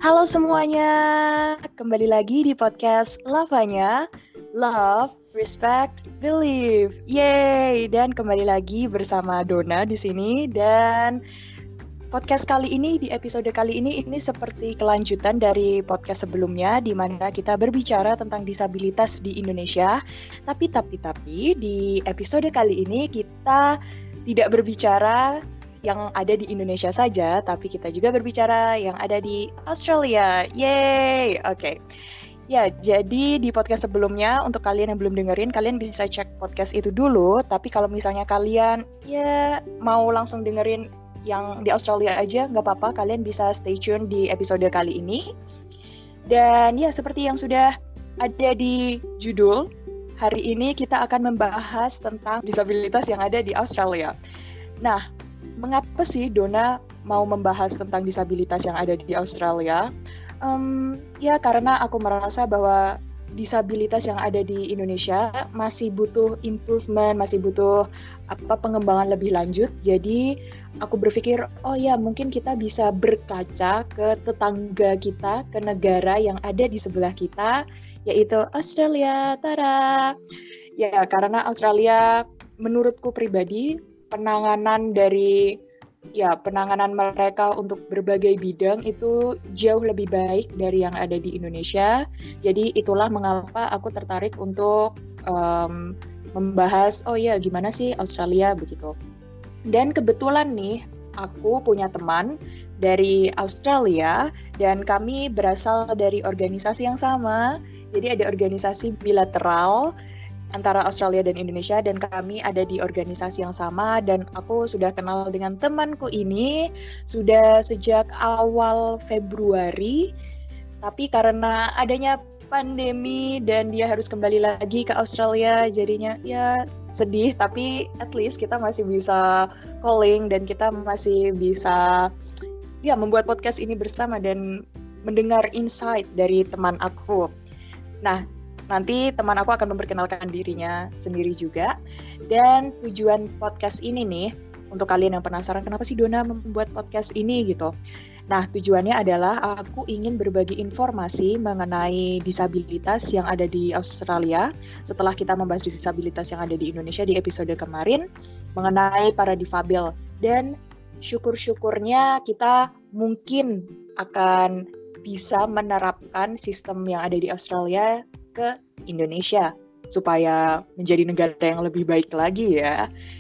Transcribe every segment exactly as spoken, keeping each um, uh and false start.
Halo semuanya, kembali lagi di podcast Lavanya, Love, Respect, Believe. Yeay, dan kembali lagi bersama Dona di sini. Dan podcast kali ini, di episode kali ini, ini seperti kelanjutan dari podcast sebelumnya, di mana kita berbicara tentang disabilitas di Indonesia. Tapi, tapi, tapi, di episode kali ini kita tidak berbicara yang ada di Indonesia saja, tapi kita juga berbicara yang ada di Australia. Yeay, oke. Okay. Ya, jadi di podcast sebelumnya, untuk kalian yang belum dengerin, kalian bisa cek podcast itu dulu. Tapi kalau misalnya kalian ya mau langsung dengerin yang di Australia aja, nggak apa-apa, kalian bisa stay tune di episode kali ini. Dan ya, seperti yang sudah ada di judul, hari ini kita akan membahas tentang disabilitas yang ada di Australia. Nah, mengapa sih Dona mau membahas tentang disabilitas yang ada di Australia? Um, ya karena aku merasa bahwa disabilitas yang ada di Indonesia masih butuh improvement, masih butuh apa pengembangan lebih lanjut. Jadi aku berpikir, oh ya mungkin kita bisa berkaca ke tetangga kita, ke negara yang ada di sebelah kita, yaitu Australia. Tada! Ya karena Australia menurutku pribadi penanganan dari ya penanganan mereka untuk berbagai bidang itu jauh lebih baik dari yang ada di Indonesia. Jadi itulah mengapa aku tertarik untuk um, membahas oh ya gimana sih Australia begitu. Dan kebetulan nih aku punya teman dari Australia dan kami berasal dari organisasi yang sama. Jadi ada organisasi bilateral antara Australia dan Indonesia, dan kami ada di organisasi yang sama, dan aku sudah kenal dengan temanku ini sudah sejak awal Februari, tapi karena adanya pandemi dan dia harus kembali lagi ke Australia, jadinya ya sedih, tapi at least kita masih bisa calling dan kita masih bisa ya membuat podcast ini bersama dan mendengar insight dari teman aku. Nah, nanti teman aku akan memperkenalkan dirinya sendiri juga. Dan tujuan podcast ini nih, untuk kalian yang penasaran kenapa sih Dona membuat podcast ini gitu. Nah, tujuannya adalah aku ingin berbagi informasi mengenai disabilitas yang ada di Australia. Setelah kita membahas disabilitas yang ada di Indonesia di episode kemarin, mengenai para difabel. Dan syukur-syukurnya kita mungkin akan bisa menerapkan sistem yang ada di Australia ke Indonesia supaya menjadi negara yang lebih baik lagi ya.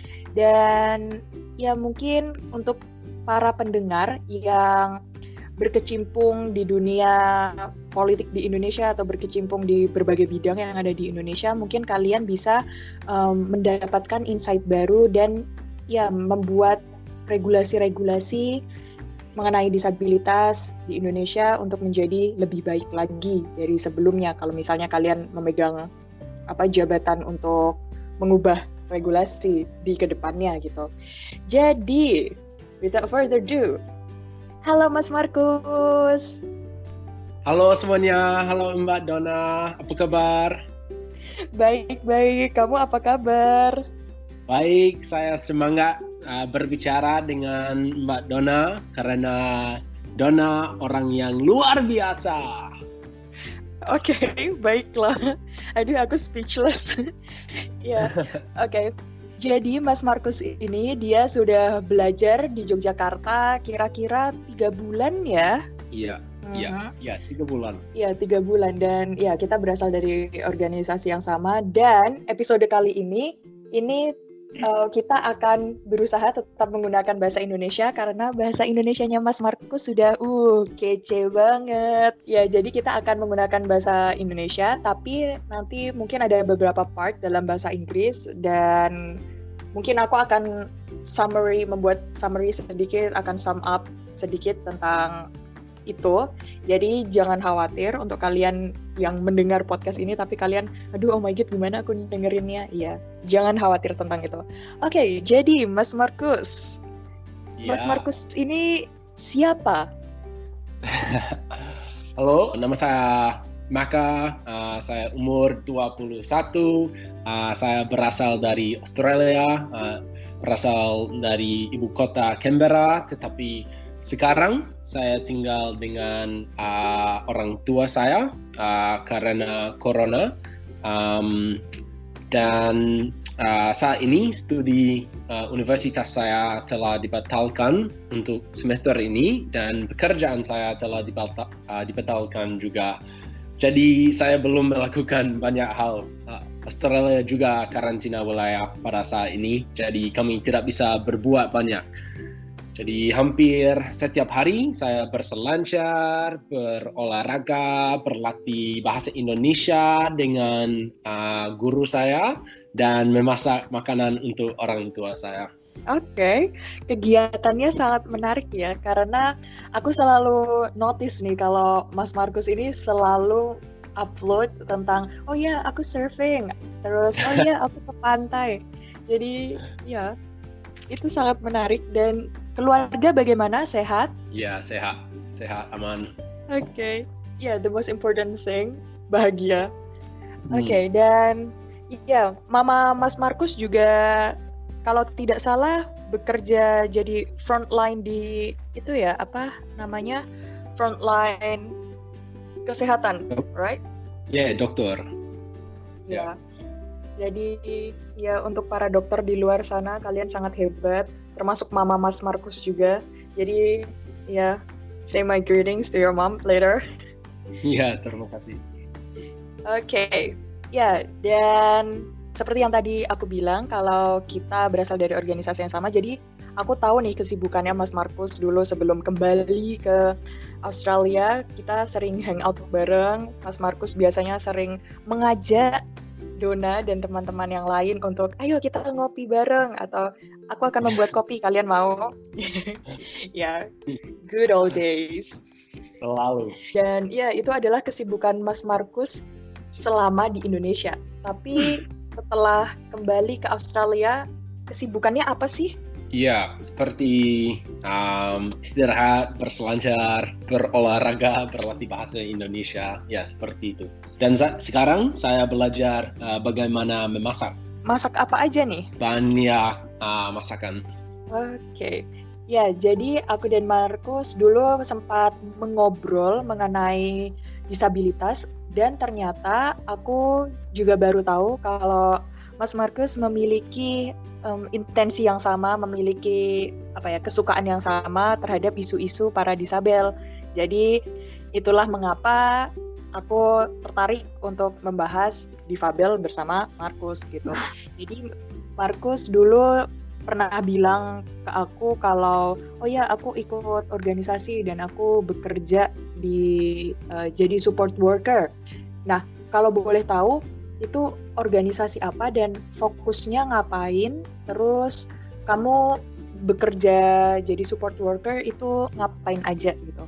Dan ya mungkin untuk para pendengar yang berkecimpung di dunia politik di Indonesia atau berkecimpung di berbagai bidang yang ada di Indonesia, mungkin kalian bisa um, mendapatkan insight baru dan ya membuat regulasi-regulasi mengenai disabilitas di Indonesia untuk menjadi lebih baik lagi dari sebelumnya. Kalau misalnya kalian memegang apa jabatan untuk mengubah regulasi di kedepannya gitu. Jadi, without further ado, halo Mas Markus. Halo semuanya, halo Mbak Dona, apa kabar? Baik-baik, kamu apa kabar? Baik, saya semangat uh, berbicara dengan Mbak Dona karena Dona orang yang luar biasa. Oke, okay, baiklah. Aduh, aku speechless. Ya, oke. Okay. Jadi Mas Markus ini dia sudah belajar di Yogyakarta kira-kira tiga bulan ya? Iya, iya, uh-huh. iya tiga bulan. Iya tiga bulan dan ya kita berasal dari organisasi yang sama dan episode kali ini ini Uh, kita akan berusaha tetap menggunakan bahasa Indonesia karena bahasa Indonesianya Mas Markus sudah uh kece banget. Ya, jadi kita akan menggunakan bahasa Indonesia tapi nanti mungkin ada beberapa part dalam bahasa Inggris dan mungkin aku akan summary membuat summary sedikit, akan sum up sedikit tentang itu. Jadi jangan khawatir untuk kalian yang mendengar podcast ini tapi kalian aduh oh my god gimana aku dengerinnya. Iya, jangan khawatir tentang itu. Oke, okay, jadi Mas Markus. Ya. Mas Markus ini siapa? Halo, nama saya Maka, uh, saya umur dua puluh satu, uh, saya berasal dari Australia, uh, berasal dari ibu kota Canberra, tetapi sekarang saya tinggal dengan uh, orang tua saya uh, karena corona. Um, dan uh, saat ini studi uh, universitas saya telah dibatalkan untuk semester ini dan pekerjaan saya telah dibatal, uh, dibatalkan juga. Jadi saya belum melakukan banyak hal. Uh, Australia juga karantina wilayah pada saat ini, jadi kami tidak bisa berbuat banyak. Jadi hampir setiap hari saya berselancar, berolahraga, berlatih bahasa Indonesia dengan uh, guru saya dan memasak makanan untuk orang tua saya. Oke, okay. Kegiatannya sangat menarik ya, karena aku selalu notice nih kalau Mas Markus ini selalu upload tentang, oh ya aku surfing, terus oh ya aku ke pantai. Jadi ya, itu sangat menarik. Dan keluarga bagaimana? Sehat? Ya, sehat. Sehat, aman. Oke. Okay. Ya, yeah, the most important thing, bahagia. Oke, okay, hmm. dan ya, yeah, Mama Mas Markus juga kalau tidak salah bekerja jadi frontline di itu ya, apa namanya? Frontline kesehatan, right? Ya, yeah, dokter. Ya. Yeah. Jadi ya untuk para dokter di luar sana kalian sangat hebat, termasuk Mama Mas Markus juga. Jadi ya, say my greetings to your mom later. Iya, terima kasih. Oke, okay. Ya, dan seperti yang tadi aku bilang, kalau kita berasal dari organisasi yang sama, jadi aku tahu nih kesibukannya Mas Markus dulu sebelum kembali ke Australia. Kita sering hangout bareng. Mas Markus biasanya sering mengajak Dona dan teman-teman yang lain untuk ayo kita ngopi bareng atau aku akan membuat kopi, kalian mau? Ya, yeah, good old days. Selalu. Dan ya itu adalah kesibukan Mas Markus selama di Indonesia. Tapi setelah kembali ke Australia, kesibukannya apa sih? Iya, seperti um, istirahat, berselancar, berolahraga, berlatih bahasa Indonesia, ya seperti itu. Dan sa- sekarang saya belajar uh, bagaimana memasak. Masak apa aja nih? Banyak uh, masakan. Oke, okay. Ya jadi aku dan Markus dulu sempat mengobrol mengenai disabilitas dan ternyata aku juga baru tahu kalau Mas Markus memiliki Um, intensi yang sama, memiliki apa ya kesukaan yang sama terhadap isu-isu para disabel. Jadi itulah mengapa aku tertarik untuk membahas difabel bersama Markus gitu. Jadi Markus dulu pernah bilang ke aku kalau oh ya aku ikut organisasi dan aku bekerja di uh, jadi support worker. Nah, kalau boleh tahu itu organisasi apa dan fokusnya ngapain, terus kamu bekerja jadi support worker itu ngapain aja gitu?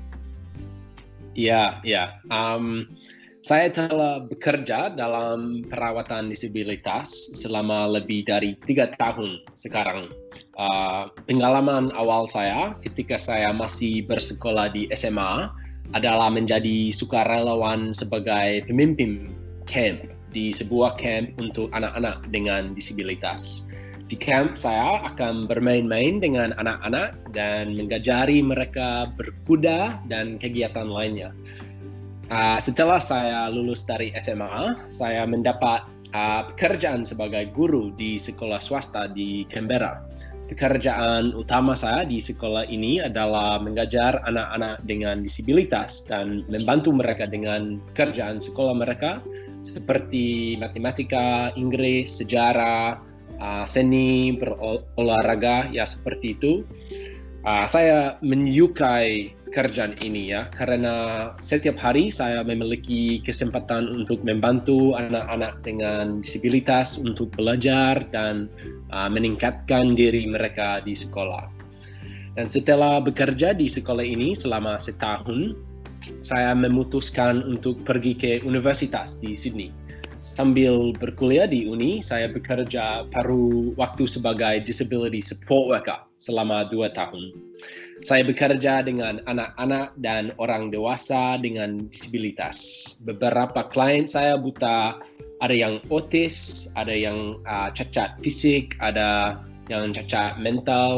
Iya, iya. Um, saya telah bekerja dalam perawatan disabilitas selama lebih dari tiga tahun sekarang. Uh, pengalaman awal saya ketika saya masih bersekolah di S M A adalah menjadi sukarelawan sebagai pemimpin camp di sebuah camp untuk anak-anak dengan disabilitas. Di camp saya akan bermain-main dengan anak-anak dan mengajari mereka berkuda dan kegiatan lainnya. Uh, setelah saya lulus dari S M A, saya mendapat uh, pekerjaan sebagai guru di sekolah swasta di Canberra. Pekerjaan utama saya di sekolah ini adalah mengajar anak-anak dengan disabilitas dan membantu mereka dengan pekerjaan sekolah mereka seperti matematika, Inggris, sejarah, uh, seni, berolahraga, ya seperti itu. Uh, saya menyukai pekerjaan ini ya, karena setiap hari saya memiliki kesempatan untuk membantu anak-anak dengan disabilitas untuk belajar dan uh, meningkatkan diri mereka di sekolah. Dan setelah bekerja di sekolah ini selama setahun, saya memutuskan untuk pergi ke universitas di Sydney. Sambil berkuliah di uni, saya bekerja paruh waktu sebagai disability support worker selama dua tahun. Saya bekerja dengan anak-anak dan orang dewasa dengan disabilitas. Beberapa klien saya buta, ada yang autis, ada yang uh, cacat fisik, ada yang cacat mental.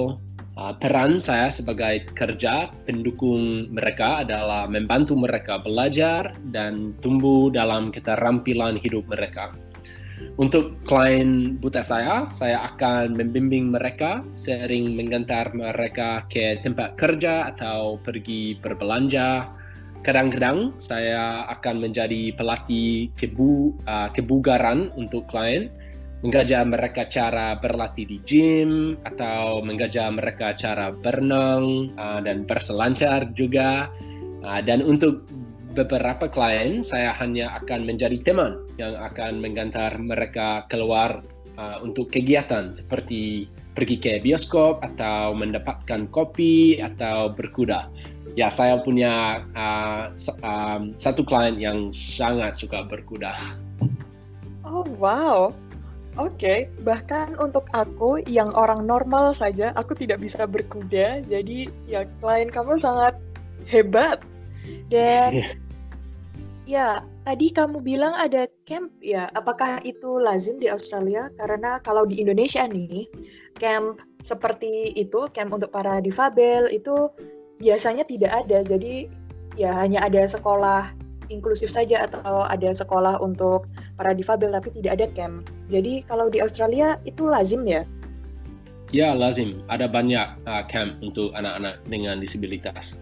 Uh, peran saya sebagai pekerja pendukung mereka adalah membantu mereka belajar dan tumbuh dalam keterampilan hidup mereka. Untuk klien buta saya, saya akan membimbing mereka, sering mengantar mereka ke tempat kerja atau pergi berbelanja. Kadang-kadang saya akan menjadi pelatih kebu, uh, kebugaran untuk klien, mengajar mereka cara berlatih di gym atau mengajar mereka cara berenang uh, dan berselancar juga. Uh, dan untuk beberapa klien, saya hanya akan menjadi teman yang akan mengantar mereka keluar uh, untuk kegiatan seperti pergi ke bioskop atau mendapatkan kopi atau berkuda. Ya, saya punya uh, um, satu klien yang sangat suka berkuda. Oh, wow. Oke, okay. Bahkan untuk aku yang orang normal saja, aku tidak bisa berkuda. Jadi ya klien kamu sangat hebat. Dan ya, tadi kamu bilang ada camp ya. Apakah itu lazim di Australia? Karena kalau di Indonesia nih, camp seperti itu, camp untuk para difabel itu biasanya tidak ada. Jadi ya hanya ada sekolah inklusif saja atau ada sekolah untuk para difabel tapi tidak ada camp. Jadi kalau di Australia itu lazim ya? Ya, lazim. Ada banyak uh, camp untuk anak-anak dengan disabilitas.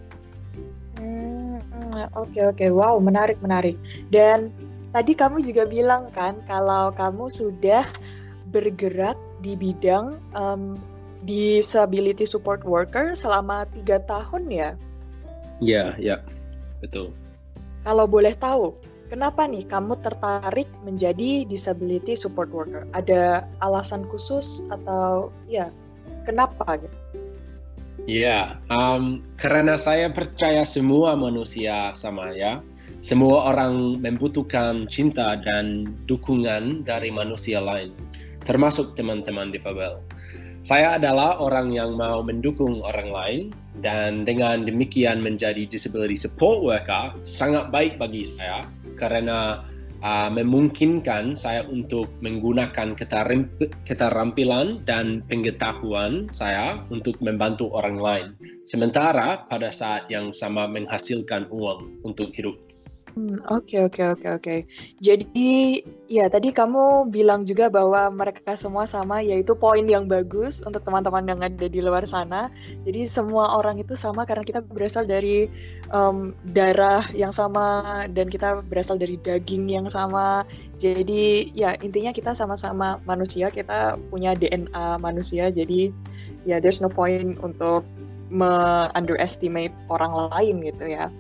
Oke oke, wow, menarik menarik. Dan tadi kamu juga bilang kan kalau kamu sudah bergerak di bidang um, disability support worker selama tiga tahun ya? Ya ya, betul. Kalau boleh tahu, kenapa nih kamu tertarik menjadi disability support worker? Ada alasan khusus atau ya kenapa gitu? Ya, um, karena saya percaya semua manusia sama ya. Semua orang membutuhkan cinta dan dukungan dari manusia lain, termasuk teman-teman difabel. Saya adalah orang yang mau mendukung orang lain dan dengan demikian menjadi disability support worker sangat baik bagi saya karena uh, memungkinkan saya untuk menggunakan keterampilan dan pengetahuan saya untuk membantu orang lain. Sementara pada saat yang sama menghasilkan uang untuk hidup. Hmm, oke oke oke oke. Jadi ya tadi kamu bilang juga bahwa mereka semua sama, yaitu poin yang bagus untuk teman-teman yang ada di luar sana. Jadi semua orang itu sama karena kita berasal dari um, darah yang sama dan kita berasal dari daging yang sama. Jadi ya intinya kita sama-sama manusia, kita punya D N A manusia. Jadi ya there's no point untuk me-underestimate orang lain gitu ya.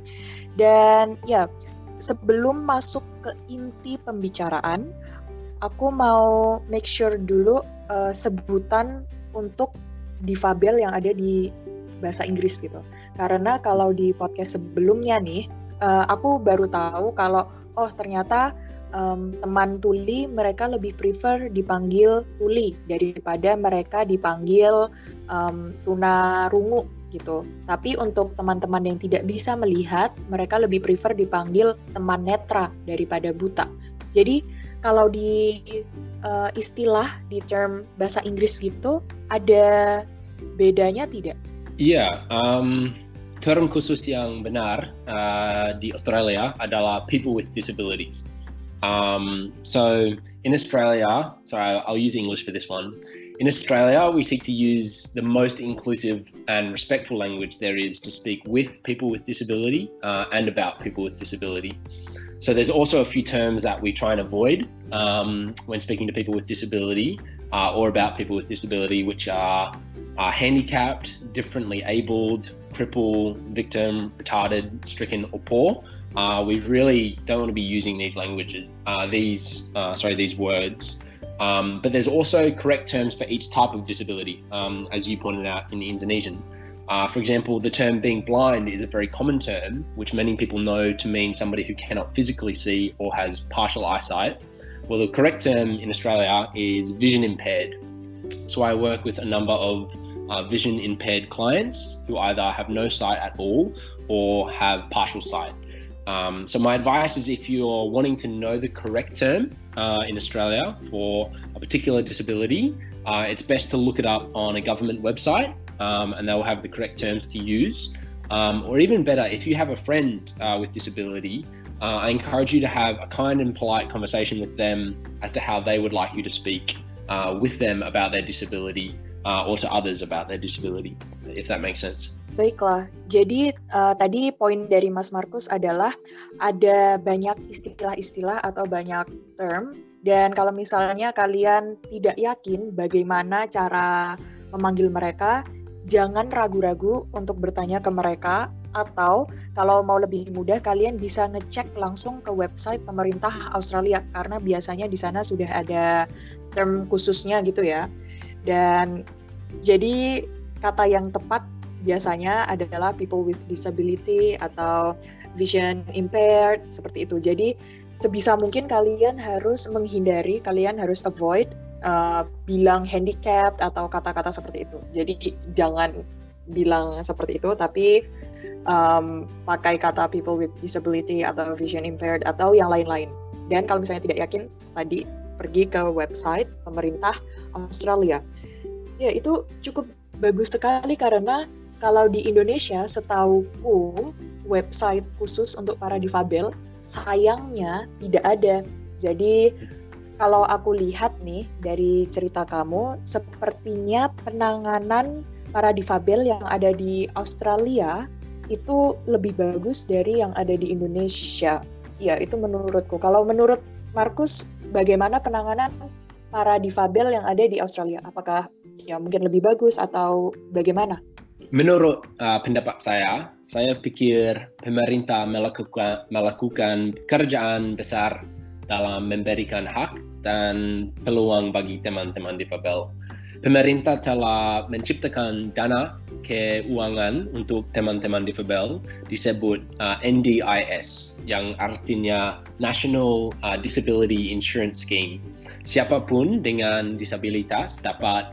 Dan ya sebelum masuk ke inti pembicaraan, aku mau make sure dulu uh, sebutan untuk difabel yang ada di bahasa Inggris gitu. Karena kalau di podcast sebelumnya nih, uh, aku baru tahu kalau oh ternyata um, teman tuli mereka lebih prefer dipanggil tuli daripada mereka dipanggil um, tunarungu gitu. Tapi untuk teman-teman yang tidak bisa melihat, mereka lebih prefer dipanggil teman netra daripada buta. Jadi kalau di uh, istilah di term bahasa Inggris gitu, ada bedanya tidak? Iya, um, term khusus yang benar uh, di Australia adalah people with disabilities. Um, so in Australia, sorry, I'll use English for this one. In Australia, we seek to use the most inclusive and respectful language there is to speak with people with disability uh, and about people with disability. So there's also a few terms that we try and avoid um, when speaking to people with disability uh, or about people with disability, which are uh, handicapped, differently abled, crippled, victim, retarded, stricken, or poor. Uh, we really don't want to be using these languages, uh, these uh, sorry, these words. Um, but there's also correct terms for each type of disability, um, as you pointed out in the Indonesian. Uh, for example, the term being blind is a very common term, which many people know to mean somebody who cannot physically see or has partial eyesight. Well, the correct term in Australia is vision impaired. So I work with a number of uh, vision impaired clients who either have no sight at all or have partial sight. Um, so my advice is if you're wanting to know the correct term uh, in Australia for a particular disability, uh, it's best to look it up on a government website um, and they'll have the correct terms to use. Um, or even better, if you have a friend uh, with disability, uh, I encourage you to have a kind and polite conversation with them as to how they would like you to speak uh, with them about their disability uh, or to others about their disability, if that makes sense. Baiklah, jadi uh, tadi poin dari Mas Markus adalah ada banyak istilah-istilah atau banyak term, dan kalau misalnya kalian tidak yakin bagaimana cara memanggil mereka, jangan ragu-ragu untuk bertanya ke mereka, atau kalau mau lebih mudah kalian bisa ngecek langsung ke website pemerintah Australia karena biasanya di sana sudah ada term khususnya gitu ya. Dan jadi kata yang tepat biasanya adalah people with disability atau vision impaired, seperti itu. Jadi sebisa mungkin kalian harus menghindari, kalian harus avoid uh, bilang handicapped atau kata-kata seperti itu. Jadi jangan bilang seperti itu, tapi um, pakai kata people with disability atau vision impaired atau yang lain-lain. Dan kalau misalnya tidak yakin, tadi pergi ke website pemerintah Australia. Ya, itu cukup bagus sekali karena kalau di Indonesia, setauku, website khusus untuk para difabel, sayangnya tidak ada. Jadi, kalau aku lihat nih, dari cerita kamu, sepertinya penanganan para difabel yang ada di Australia, itu lebih bagus dari yang ada di Indonesia. Ya, itu menurutku. Kalau menurut Markus, bagaimana penanganan para difabel yang ada di Australia? Apakah ya mungkin lebih bagus atau bagaimana? Menurut uh, pendapat saya, saya pikir pemerintah melakukan, melakukan pekerjaan besar dalam memberikan hak dan peluang bagi teman-teman difabel. Pemerintah telah menciptakan dana keuangan untuk teman-teman difabel disebut uh, N D I S, yang artinya National uh, Disability Insurance Scheme. Siapapun dengan disabilitas dapat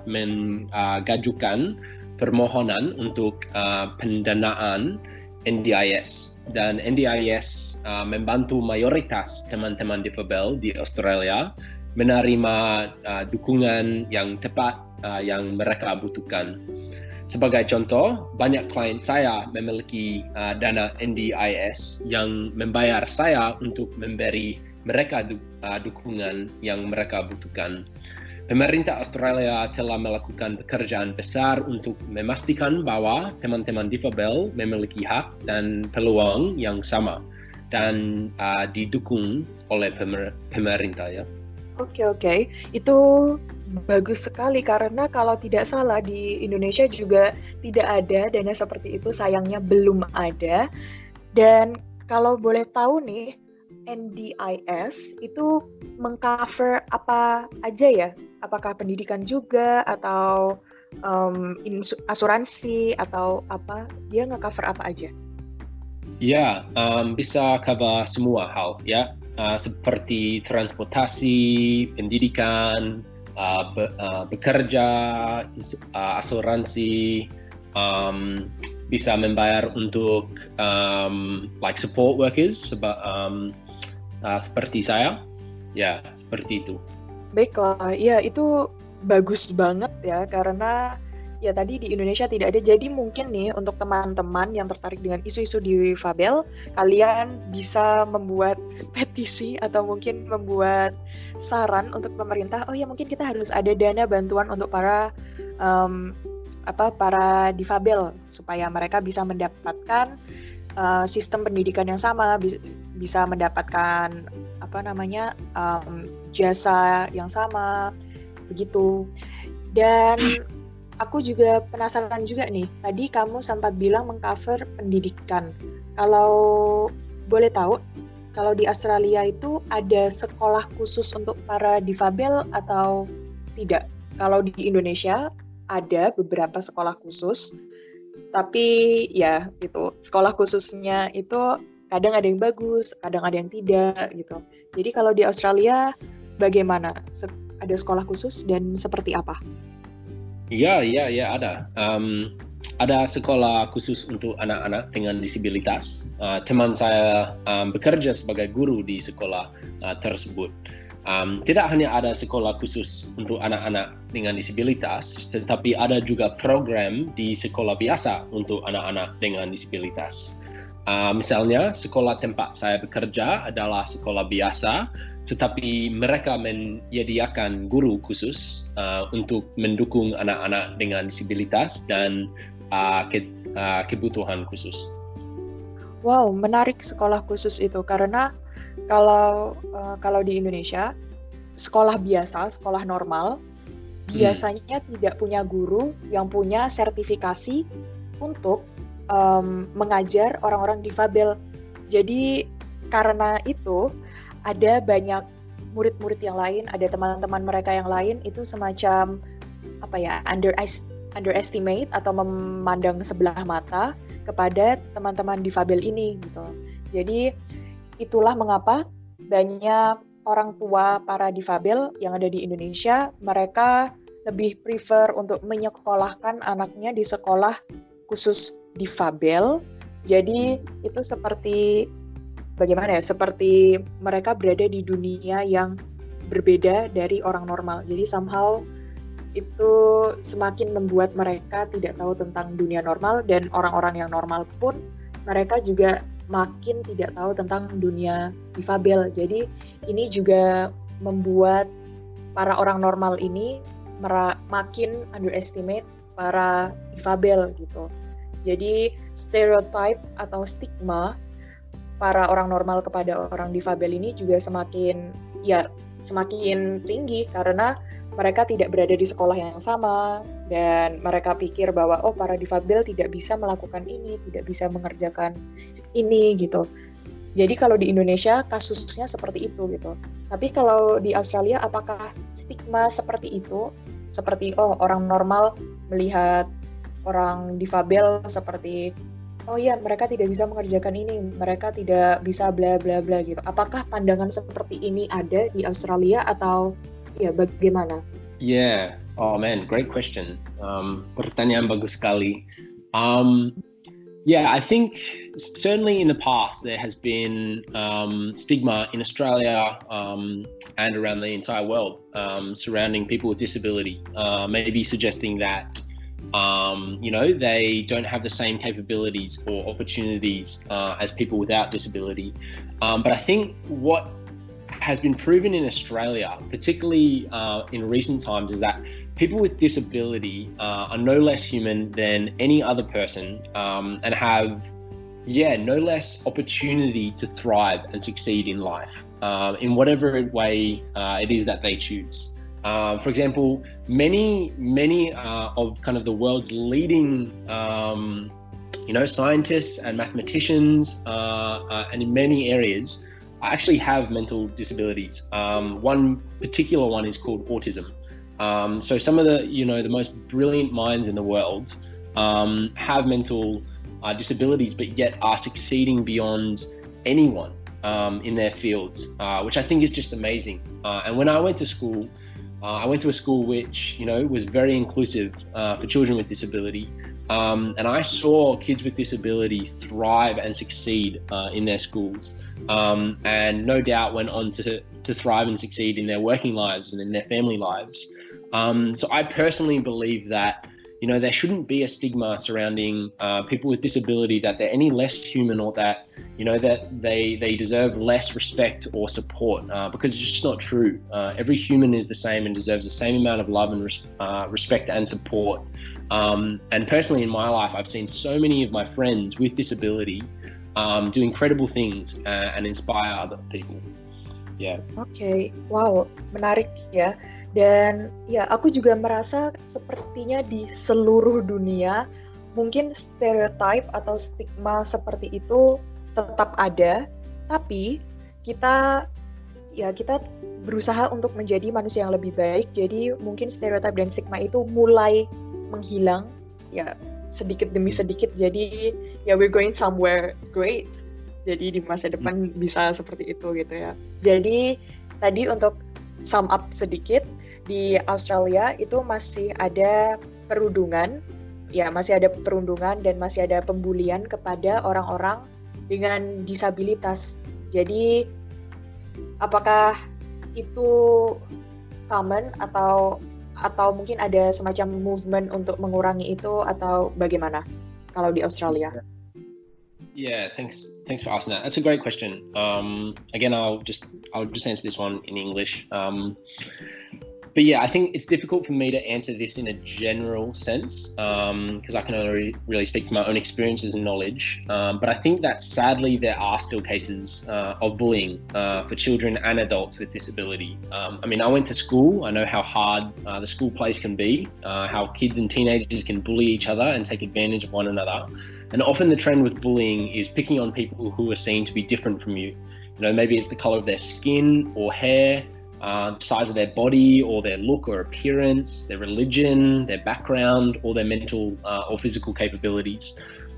mengajukan uh, permohonan untuk uh, pendanaan N D I S, dan N D I S uh, membantu mayoritas teman-teman difabel di Australia menerima uh, dukungan yang tepat uh, yang mereka butuhkan. Sebagai contoh, banyak klien saya memiliki uh, dana N D I S yang membayar saya untuk memberi mereka du- uh, dukungan yang mereka butuhkan. Pemerintah Australia telah melakukan pekerjaan besar untuk memastikan bahwa teman-teman difabel memiliki hak dan peluang yang sama dan uh, didukung oleh pemer- pemerintah ya. Oke oke, itu bagus sekali karena kalau tidak salah di Indonesia juga tidak ada dana seperti itu, sayangnya belum ada. Dan kalau boleh tahu nih, N D I S itu mengcover apa aja ya? Apakah pendidikan juga atau um, insu- asuransi atau apa? Dia nge-cover apa aja? Ya, um, bisa cover semua hal ya, uh, seperti transportasi, pendidikan, uh, be, uh, bekerja, uh, asuransi, um, bisa membayar untuk um, like support workers seba, um, uh, seperti saya, ya seperti itu. Baiklah, ya itu bagus banget ya karena ya tadi di Indonesia tidak ada. Jadi mungkin nih untuk teman-teman yang tertarik dengan isu-isu difabel, kalian bisa membuat petisi atau mungkin membuat saran untuk pemerintah. Oh ya, mungkin kita harus ada dana bantuan untuk para um, apa para difabel supaya mereka bisa mendapatkan uh, sistem pendidikan yang sama, bisa, bisa mendapatkan apa namanya um, jasa yang sama begitu. Dan aku juga penasaran juga nih, tadi kamu sempat bilang mengcover pendidikan. Kalau boleh tahu, kalau di Australia itu ada sekolah khusus untuk para difabel atau tidak? Kalau di Indonesia ada beberapa sekolah khusus, tapi ya itu sekolah khususnya itu kadang ada yang bagus, kadang ada yang tidak gitu. Jadi kalau di Australia bagaimana? Ada sekolah khusus dan seperti apa? Iya, iya, iya ada. Um, ada sekolah khusus untuk anak-anak dengan disabilitas. Uh, teman saya um, bekerja sebagai guru di sekolah uh, tersebut. Um, tidak hanya ada sekolah khusus untuk anak-anak dengan disabilitas, tetapi ada juga program di sekolah biasa untuk anak-anak dengan disabilitas. Uh, misalnya, sekolah tempat saya bekerja adalah sekolah biasa, tetapi mereka menyediakan guru khusus uh, untuk mendukung anak-anak dengan disabilitas dan uh, ke, uh, kebutuhan khusus. Wow, menarik sekolah khusus itu, karena kalau uh, kalau di Indonesia sekolah biasa, sekolah normal biasanya hmm. tidak punya guru yang punya sertifikasi untuk um, mengajar orang-orang difabel. Jadi karena itu ada banyak murid-murid yang lain, ada teman-teman mereka yang lain itu semacam apa ya, under underestimate atau memandang sebelah mata kepada teman-teman difabel ini gitu. Jadi itulah mengapa banyak orang tua para difabel yang ada di Indonesia, mereka lebih prefer untuk menyekolahkan anaknya di sekolah khusus difabel. Jadi itu seperti bagaimana ya? Seperti mereka berada di dunia yang berbeda dari orang normal. Jadi somehow itu semakin membuat mereka tidak tahu tentang dunia normal, dan orang-orang yang normal pun mereka juga makin tidak tahu tentang dunia difabel. Jadi ini juga membuat para orang normal ini mera- makin underestimate para difabel gitu. Jadi stereotype atau stigma para orang normal kepada orang difabel ini juga semakin ya semakin tinggi karena mereka tidak berada di sekolah yang sama, dan mereka pikir bahwa oh para difabel tidak bisa melakukan ini, tidak bisa mengerjakan ini gitu. Jadi kalau di Indonesia kasusnya seperti itu gitu. Tapi kalau di Australia apakah stigma seperti itu? Seperti oh orang normal melihat orang difabel seperti oh ya mereka tidak bisa mengerjakan ini, mereka tidak bisa bla bla bla gitu. Apakah pandangan seperti ini ada di Australia atau ya bagaimana? Yeah, oh man, great question. Um, pertanyaan bagus sekali. Um, yeah, I think certainly in the past there has been um, stigma in Australia um, and around the entire world um, surrounding people with disability, uh, maybe suggesting that um, you know they don't have the same capabilities or opportunities uh, as people without disability. Um, but I think what has been proven in Australia, particularly uh, in recent times, is that people with disability uh, are no less human than any other person um, and have, yeah, no less opportunity to thrive and succeed in life uh, in whatever way uh, it is that they choose. Uh, for example, many, many uh, of kind of the world's leading, um, you know, scientists and mathematicians, uh, uh, and in many areas, actually have mental disabilities. Um, one particular one is called autism. Um, so some of the, you know, the most brilliant minds in the world um, have mental uh, disabilities, but yet are succeeding beyond anyone um, in their fields, uh, which I think is just amazing. Uh, and when I went to school, uh, I went to a school which, you know, was very inclusive uh, for children with disability. Um, and I saw kids with disability thrive and succeed uh, in their schools, um, and no doubt went on to, to thrive and succeed in their working lives and in their family lives. Um, so I personally believe that, you know, there shouldn't be a stigma surrounding uh, people with disability, that they're any less human, or that, you know, that they, they deserve less respect or support, uh, because it's just not true. Uh, every human is the same and deserves the same amount of love and res- uh, respect and support. Um, and personally in my life, I've seen so many of my friends with disability um, do incredible things uh, and inspire other people. Yeah. Oke, okay. Wow, menarik ya. Dan ya, aku juga merasa sepertinya di seluruh dunia mungkin stereotype atau stigma seperti itu tetap ada, tapi kita ya kita berusaha untuk menjadi manusia yang lebih baik. Jadi mungkin stereotype dan stigma itu mulai menghilang ya sedikit demi sedikit. Jadi ya we're going somewhere great. Jadi di masa depan hmm. bisa seperti itu gitu ya. Jadi tadi untuk sum up sedikit, di Australia itu masih ada perundungan, ya masih ada perundungan dan masih ada pembulian kepada orang-orang dengan disabilitas. Jadi apakah itu common atau atau mungkin ada semacam movement untuk mengurangi itu atau bagaimana kalau di Australia? Yeah, thanks. Thanks for asking that. That's a great question. Um, again, I'll just I'll just answer this one in English. Um, but yeah, I think it's difficult for me to answer this in a general sense because um, I can only really speak from my own experiences and knowledge. Um, but I think that sadly there are still cases uh, of bullying uh, for children and adults with disability. Um, I mean, I went to school. I know how hard uh, the school place can be, uh, how kids and teenagers can bully each other and take advantage of one another. And often the trend with bullying is picking on people who are seen to be different from you. You know, maybe it's the color of their skin or hair, uh, size of their body or their look or appearance, their religion, their background, or their mental uh, or physical capabilities.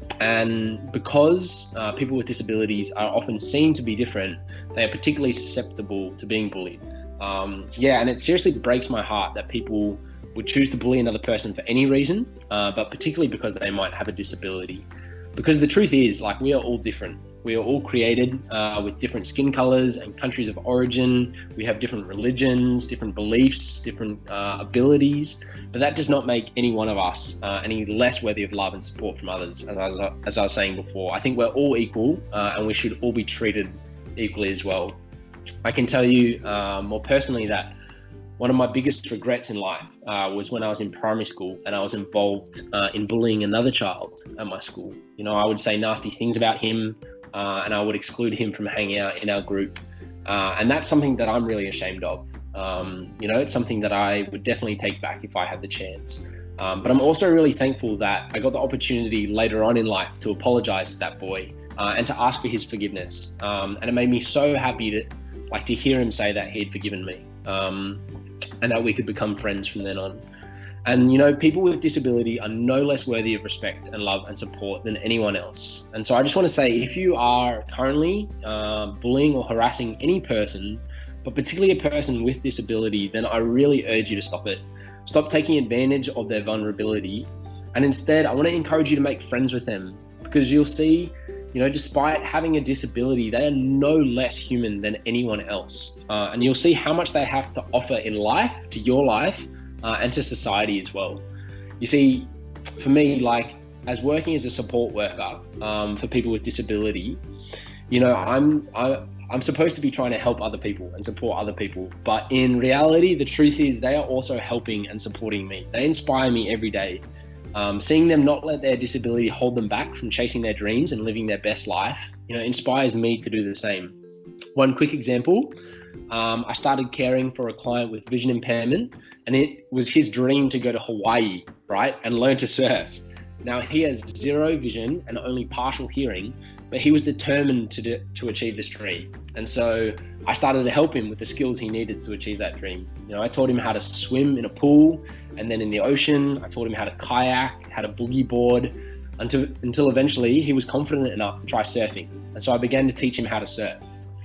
And because uh, people with disabilities are often seen to be different, they are particularly susceptible to being bullied. Um, yeah, and it seriously breaks my heart that people would choose to bully another person for any reason, uh, but particularly because they might have a disability. Because the truth is, like, we are all different. We are all created uh, with different skin colors and countries of origin. We have different religions, different beliefs, different uh, abilities, but that does not make any one of us uh, any less worthy of love and support from others. As I was, as I was saying before, I think we're all equal uh, and we should all be treated equally as well. I can tell you uh, more personally that one of my biggest regrets in life uh, was when I was in primary school and I was involved uh, in bullying another child at my school. You know, I would say nasty things about him uh, and I would exclude him from hanging out in our group. Uh, and that's something that I'm really ashamed of. Um, you know, it's something that I would definitely take back if I had the chance. Um, but I'm also really thankful that I got the opportunity later on in life to apologize to that boy uh, and to ask for his forgiveness. Um, and it made me so happy to, like, to hear him say that he'd forgiven me. Um, and that we could become friends from then on. And, you know, people with disability are no less worthy of respect and love and support than anyone else. And so I just want to say, if you are currently uh, bullying or harassing any person, but particularly a person with disability, then I really urge you to stop it. Stop taking advantage of their vulnerability. And instead, I want to encourage you to make friends with them, because you'll see, you know, despite having a disability, they are no less human than anyone else. Uh, and you'll see how much they have to offer in life, to your life, uh, and to society as well. You see, for me, like, as working as a support worker um, for people with disability, you know, I'm, I, I'm supposed to be trying to help other people and support other people. But in reality, the truth is they are also helping and supporting me. They inspire me every day. Um, seeing them not let their disability hold them back from chasing their dreams and living their best life, you know, inspires me to do the same. One quick example, um, I started caring for a client with vision impairment, and it was his dream to go to Hawaii, right, and learn to surf. Now, he has zero vision and only partial hearing, but he was determined to do, to achieve this dream. And so I started to help him with the skills he needed to achieve that dream. You know, I taught him how to swim in a pool and then in the ocean. I taught him how to kayak, how to boogie board, until, until eventually he was confident enough to try surfing. And so I began to teach him how to surf.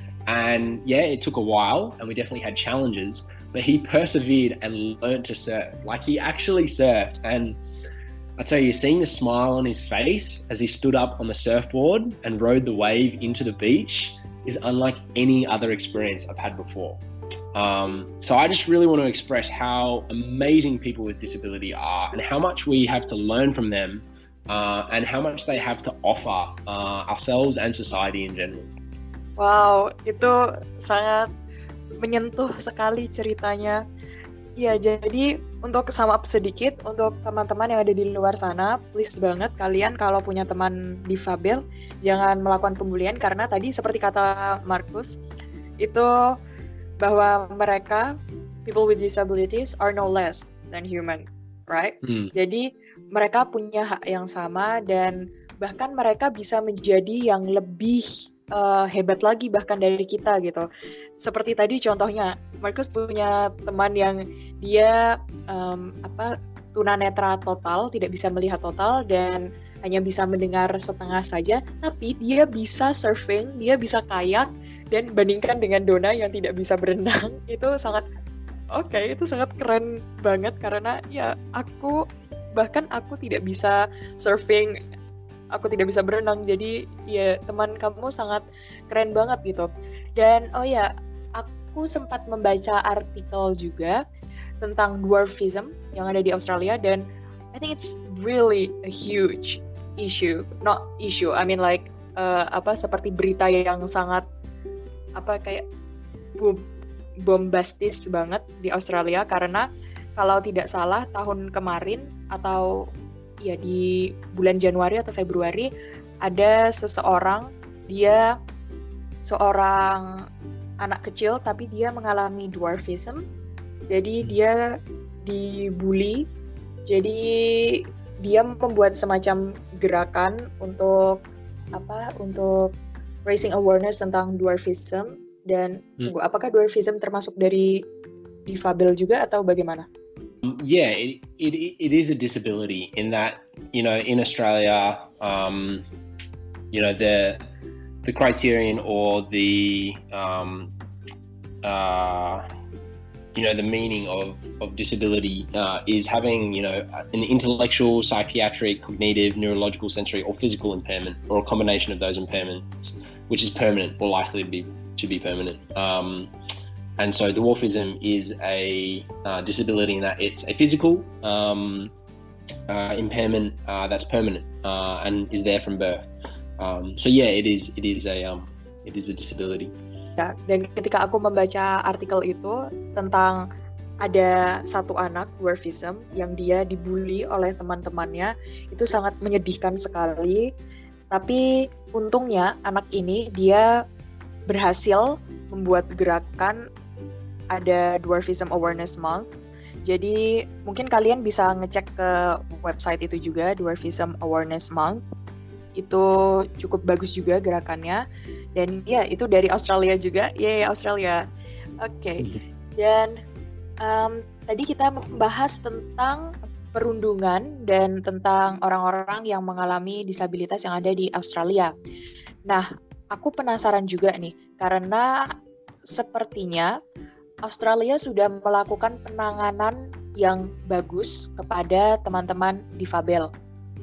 And yeah, it took a while and we definitely had challenges, but he persevered and learned to surf. Like, he actually surfed. And I tell you, seeing the smile on his face as he stood up on the surfboard and rode the wave into the beach is unlike any other experience I've had before. Um, so I just really want to express how amazing people with disability are and how much we have to learn from them uh, and how much they have to offer uh, ourselves and society in general. Wow, itu sangat menyentuh sekali ceritanya. Ya, jadi untuk sum up sedikit, untuk teman-teman yang ada di luar sana, please banget kalian kalau punya teman difabel, jangan melakukan pembulian, karena tadi seperti kata Marcus, itu bahwa mereka, people with disabilities, are no less than human, right? Hmm. Jadi mereka punya hak yang sama dan bahkan mereka bisa menjadi yang lebih uh, hebat lagi bahkan dari kita gitu. Seperti tadi contohnya, Marcus punya teman yang dia um, apa tunanetra total, tidak bisa melihat total dan hanya bisa mendengar setengah saja, tapi dia bisa surfing, dia bisa kayak, dan bandingkan dengan Dona yang tidak bisa berenang, itu sangat oke, okay, itu sangat keren banget karena ya aku bahkan aku tidak bisa surfing, aku tidak bisa berenang, jadi ya teman kamu sangat keren banget gitu. Dan oh ya, aku sempat membaca artikel juga tentang dwarfism yang ada di Australia, dan I think it's really a huge issue, not issue, I mean like uh, apa seperti berita yang sangat apa kayak boom, bombastis banget di Australia, karena kalau tidak salah tahun kemarin atau ya di bulan Januari atau Februari ada seseorang, dia seorang anak kecil tapi dia mengalami dwarfism. Jadi dia dibully, jadi dia membuat semacam gerakan untuk apa? Untuk raising awareness tentang dwarfism. Dan hmm. apakah dwarfism termasuk dari difabel juga atau bagaimana? Yeah, it, it it is a disability in that, you know, in Australia, um, you know, the the criterion or the um, uh, you know, the meaning of, of disability uh, is having, you know, an intellectual, psychiatric, cognitive, neurological, sensory, or physical impairment, or a combination of those impairments, which is permanent or likely to be to be permanent. Um, and so dwarfism is a uh, disability in that it's a physical um, uh, impairment uh, that's permanent uh, and is there from birth. Um, so yeah, it is it is a um, it is a disability. Ya, dan ketika aku membaca artikel itu tentang ada satu anak dwarfism yang dia dibully oleh teman-temannya, itu sangat menyedihkan sekali. Tapi untungnya anak ini dia berhasil membuat gerakan, ada Dwarfism Awareness Month. Jadi mungkin kalian bisa ngecek ke website itu juga, Dwarfism Awareness Month. Itu cukup bagus juga gerakannya. Dan ya, itu dari Australia juga. Yeay, Australia. Oke. Okay. Dan um, tadi kita membahas tentang perundungan dan tentang orang-orang yang mengalami disabilitas yang ada di Australia. Nah, aku penasaran juga nih, karena sepertinya Australia sudah melakukan penanganan yang bagus kepada teman-teman difabel.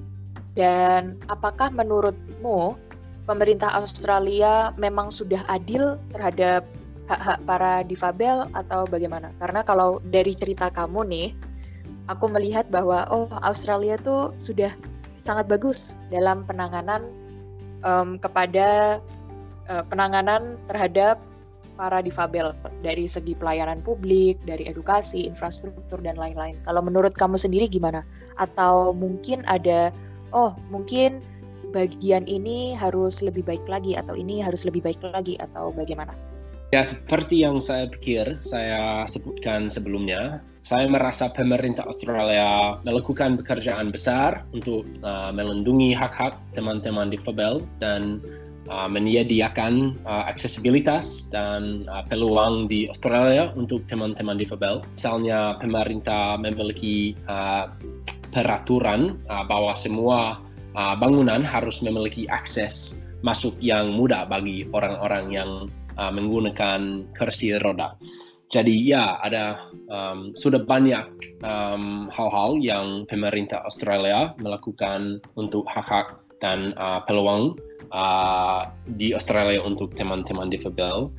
Dan apakah menurutmu pemerintah Australia memang sudah adil terhadap hak-hak para difabel atau bagaimana? Karena kalau dari cerita kamu nih, aku melihat bahwa oh Australia tuh sudah sangat bagus dalam penanganan um, kepada uh, penanganan terhadap para difabel dari segi pelayanan publik, dari edukasi, infrastruktur dan lain-lain. Kalau menurut kamu sendiri gimana? Atau mungkin ada oh mungkin bagian ini harus lebih baik lagi atau ini harus lebih baik lagi atau bagaimana? Ya, seperti yang saya pikir saya sebutkan sebelumnya, saya merasa pemerintah Australia melakukan pekerjaan besar untuk uh, melindungi hak-hak teman-teman difabel dan uh, menyediakan uh, aksesibilitas dan uh, peluang di Australia untuk teman-teman difabel. Misalnya pemerintah memiliki uh, peraturan uh, bahwa semua Uh, bangunan harus memiliki akses masuk yang mudah bagi orang-orang yang uh, menggunakan kursi roda. Jadi ya ada um, sudah banyak um, hal-hal yang pemerintah Australia melakukan untuk hak-hak dan uh, peluang uh, di Australia untuk teman-teman difabel.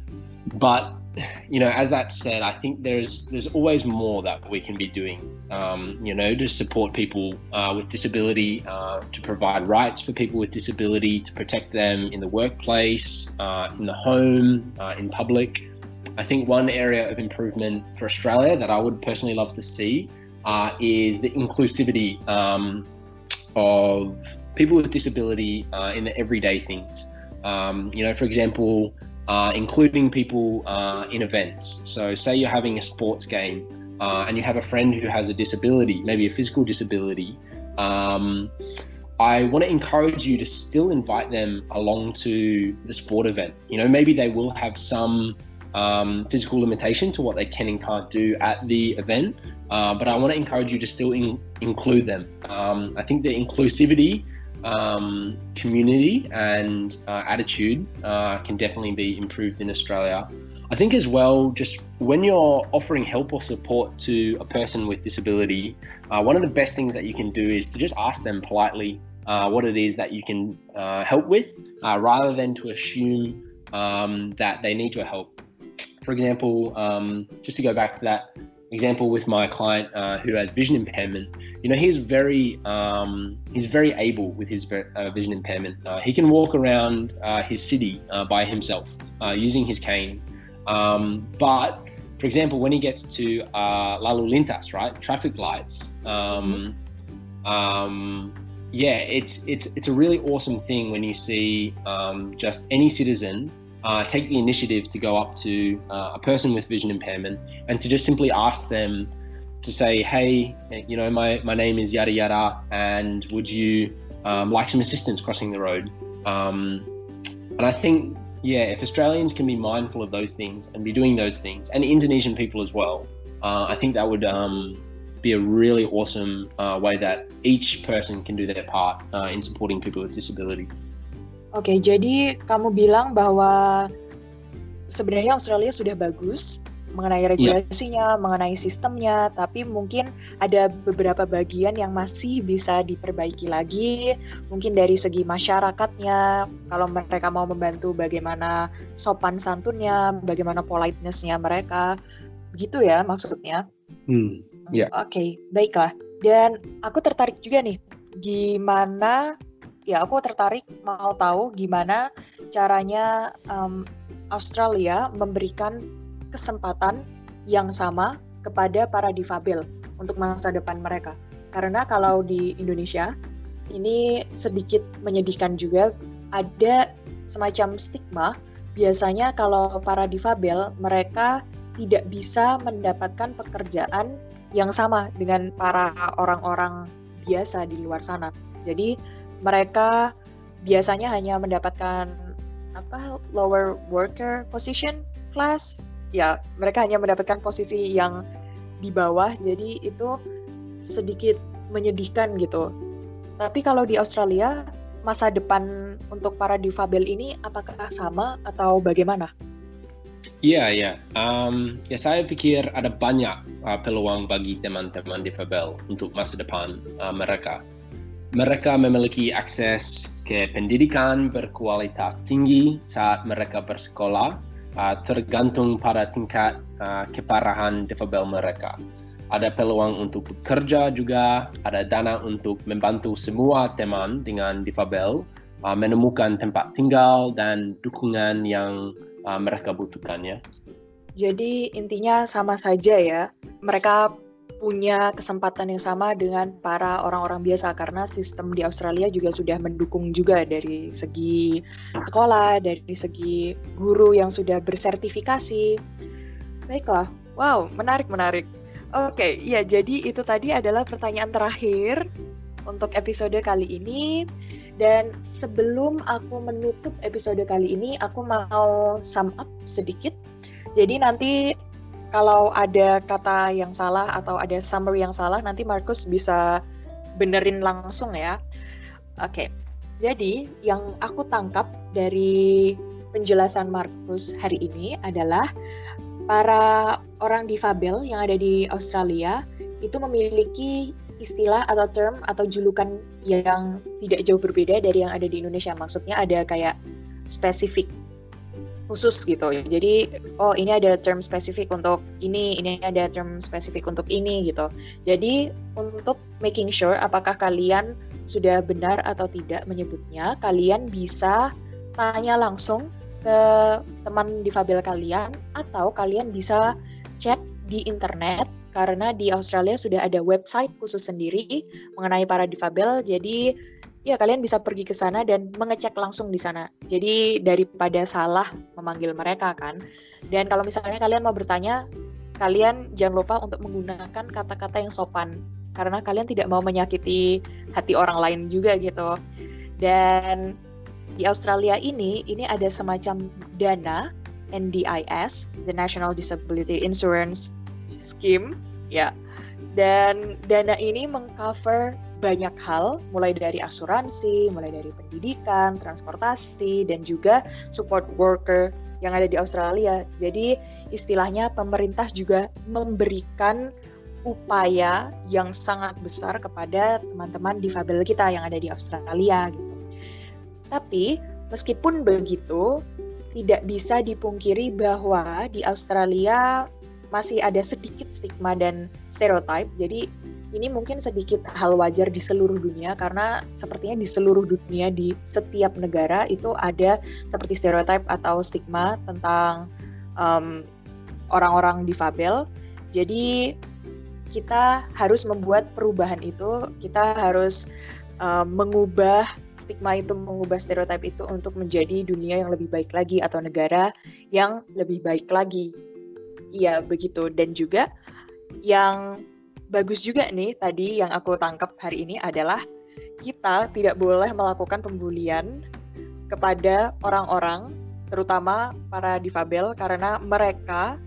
But you know, as that said, I think there's there's always more that we can be doing, um, you know, to support people uh, with disability, uh, to provide rights for people with disability, to protect them in the workplace, uh, in the home, uh, in public. I think one area of improvement for Australia that I would personally love to see uh, is the inclusivity um, of people with disability uh, in the everyday things. Um, you know, for example, Uh, including people uh, in events. So say you're having a sports game uh, and you have a friend who has a disability, maybe a physical disability. Um, I want to encourage you to still invite them along to the sport event. You know, maybe they will have some um, physical limitation to what they can and can't do at the event, uh, but I want to encourage you to still in- include them. Um, I think the inclusivity Um, community and uh, attitude uh, can definitely be improved in Australia. I think as well, just when you're offering help or support to a person with disability, uh, one of the best things that you can do is to just ask them politely uh, what it is that you can uh, help with, uh, rather than to assume um, that they need your help. for example, um, just to go back to that example with my client uh, who has vision impairment, you know, he's very um, he's very able with his uh, vision impairment. Uh, he can walk around uh, his city uh, by himself uh, using his cane. Um, but, for example, when he gets to uh, lalu lintas, right, traffic lights, um, um, yeah, it's it's it's a really awesome thing when you see um, just any citizen uh, take the initiative to go up to uh, a person with vision impairment and to just simply ask them to say, hey, you know, my, my name is yada yada, and would you um, like some assistance crossing the road? Um, and I think, yeah, if Australians can be mindful of those things and be doing those things, and Indonesian people as well, uh, I think that would um, be a really awesome uh, way that each person can do their part uh, in supporting people with disability. Oke, okay, jadi kamu bilang bahwa sebenarnya Australia sudah bagus mengenai regulasinya, yeah. mengenai sistemnya, tapi mungkin ada beberapa bagian yang masih bisa diperbaiki lagi, mungkin dari segi masyarakatnya, kalau mereka mau membantu bagaimana sopan santunnya, bagaimana politeness-nya mereka, begitu ya maksudnya? Hmm, yeah. Oke, okay, baiklah. Dan aku tertarik juga nih, gimana, ya aku tertarik mau tahu gimana caranya um, Australia memberikan kesempatan yang sama kepada para difabel untuk masa depan mereka. Karena kalau di Indonesia, ini sedikit menyedihkan juga, ada semacam stigma, biasanya kalau para difabel, mereka tidak bisa mendapatkan pekerjaan yang sama dengan para orang-orang biasa di luar sana. Jadi mereka biasanya hanya mendapatkan apa lower worker position class, ya mereka hanya mendapatkan posisi yang di bawah, jadi itu sedikit menyedihkan gitu. Tapi kalau di Australia, masa depan untuk para difabel ini apakah sama atau bagaimana? Iya, yeah, iya. Yeah. Um, ya saya pikir ada banyak uh, peluang bagi teman-teman difabel untuk masa depan uh, mereka. Mereka memiliki akses ke pendidikan berkualitas tinggi saat mereka bersekolah, uh, tergantung pada tingkat uh, keparahan difabel mereka. Ada peluang untuk bekerja juga, ada dana untuk membantu semua teman dengan difabel uh, menemukan tempat tinggal dan dukungan yang uh, mereka butuhkan, ya. Jadi intinya sama saja ya, mereka punya kesempatan yang sama dengan para orang-orang biasa karena sistem di Australia juga sudah mendukung juga dari segi sekolah, dari segi guru yang sudah bersertifikasi. Baiklah, wow, menarik-menarik. Oke, ya jadi itu tadi adalah pertanyaan terakhir untuk episode kali ini. Dan sebelum aku menutup episode kali ini, aku mau sum up sedikit. Jadi nanti kalau ada kata yang salah atau ada summary yang salah, nanti Markus bisa benerin langsung ya. Oke, jadi yang aku tangkap dari penjelasan Markus hari ini adalah para orang difabel yang ada di Australia itu memiliki istilah atau term atau julukan yang tidak jauh berbeda dari yang ada di Indonesia. Maksudnya ada kayak spesifik khusus gitu. Jadi, oh ini ada term spesifik untuk ini, ini ada term spesifik untuk ini gitu. Jadi, untuk making sure apakah kalian sudah benar atau tidak menyebutnya, kalian bisa tanya langsung ke teman difabel kalian atau kalian bisa cek di internet karena di Australia sudah ada website khusus sendiri mengenai para difabel. Jadi, ya kalian bisa pergi ke sana dan mengecek langsung di sana. Jadi daripada salah memanggil mereka kan. Dan kalau misalnya kalian mau bertanya, kalian jangan lupa untuk menggunakan kata-kata yang sopan. Karena kalian tidak mau menyakiti hati orang lain juga gitu. Dan di Australia ini, ini ada semacam dana N D I S, the National Disability Insurance Scheme. Ya. Dan dana ini mengcover banyak hal, mulai dari asuransi, mulai dari pendidikan, transportasi, dan juga support worker yang ada di Australia. Jadi istilahnya pemerintah juga memberikan upaya yang sangat besar kepada teman-teman difabel kita yang ada di Australia gitu. Tapi meskipun begitu, tidak bisa dipungkiri bahwa di Australia masih ada sedikit stigma dan stereotip. Jadi ini mungkin sedikit hal wajar di seluruh dunia, karena sepertinya di seluruh dunia di setiap negara itu ada seperti stereotip atau stigma tentang um, orang-orang difabel. Jadi kita harus membuat perubahan itu, kita harus um, mengubah stigma itu, mengubah stereotip itu untuk menjadi dunia yang lebih baik lagi atau negara yang lebih baik lagi. Iya, begitu. Dan juga yang bagus juga nih tadi yang aku tangkap hari ini adalah kita tidak boleh melakukan pembulian kepada orang-orang, terutama para difabel, karena mereka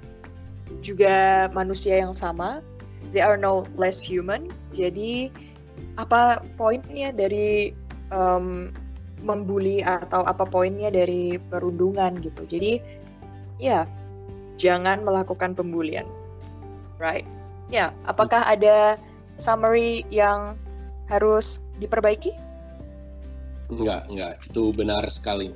juga manusia yang sama. They are no less human. Jadi apa poinnya dari um, membuli atau apa poinnya dari perundungan gitu. Jadi ya, jangan melakukan pembulian. Right? Ya, apakah ada summary yang harus diperbaiki? Enggak, enggak. Itu benar sekali.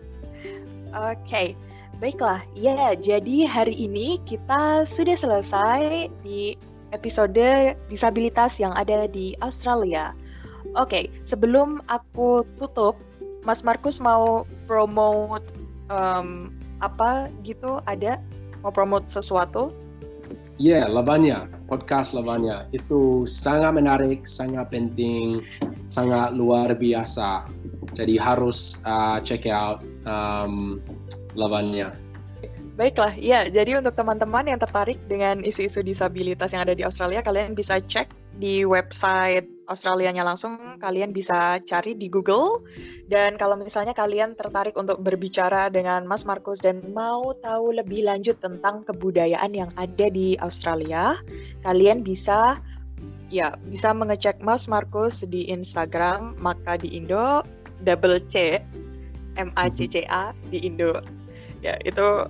Oke, okay. Baiklah. Ya, jadi hari ini kita sudah selesai di episode disabilitas yang ada di Australia. Oke, okay. Sebelum aku tutup, Mas Markus mau promote um, apa gitu? Ada? Mau promote sesuatu? Ya, yeah, Lavanya, podcast Lavanya itu sangat menarik, sangat penting, sangat luar biasa. Jadi harus uh, check out um, Lavanya. Baiklah, ya. Jadi untuk teman-teman yang tertarik dengan isu-isu disabilitas yang ada di Australia, kalian bisa cek di website Australianya langsung. Kalian bisa cari di Google. Dan kalau misalnya kalian tertarik untuk berbicara dengan Mas Markus dan mau tahu lebih lanjut tentang kebudayaan yang ada di Australia, kalian bisa ya bisa mengecek Mas Markus di Instagram Maka di Indo, double C M A C C A di Indo. Ya, itu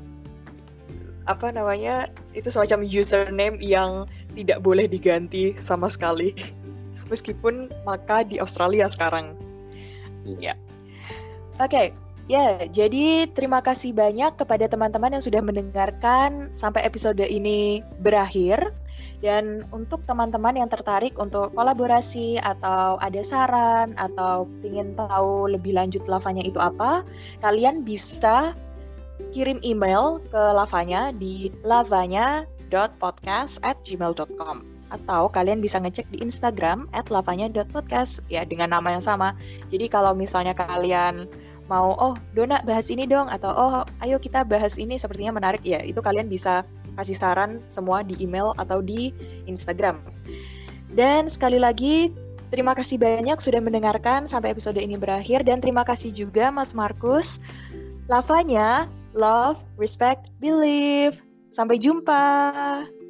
apa namanya? Itu semacam username yang tidak boleh diganti sama sekali. Meskipun Maka di Australia sekarang. Ya. Oke, okay. Ya, jadi terima kasih banyak kepada teman-teman yang sudah mendengarkan sampai episode ini berakhir. Dan untuk teman-teman yang tertarik untuk kolaborasi atau ada saran atau ingin tahu lebih lanjut Lavanya itu apa, kalian bisa kirim email ke Lavanya di lavanya dot podcast at gmail dot com. Atau kalian bisa ngecek di Instagram at lavanya dot podcast ya dengan nama yang sama. Jadi kalau misalnya kalian mau, oh Dona bahas ini dong, atau oh ayo kita bahas ini sepertinya menarik, ya itu kalian bisa kasih saran semua di email atau di Instagram. Dan sekali lagi terima kasih banyak sudah mendengarkan sampai episode ini berakhir, dan terima kasih juga Mas Markus. Lavanya, love, respect, believe. Sampai jumpa.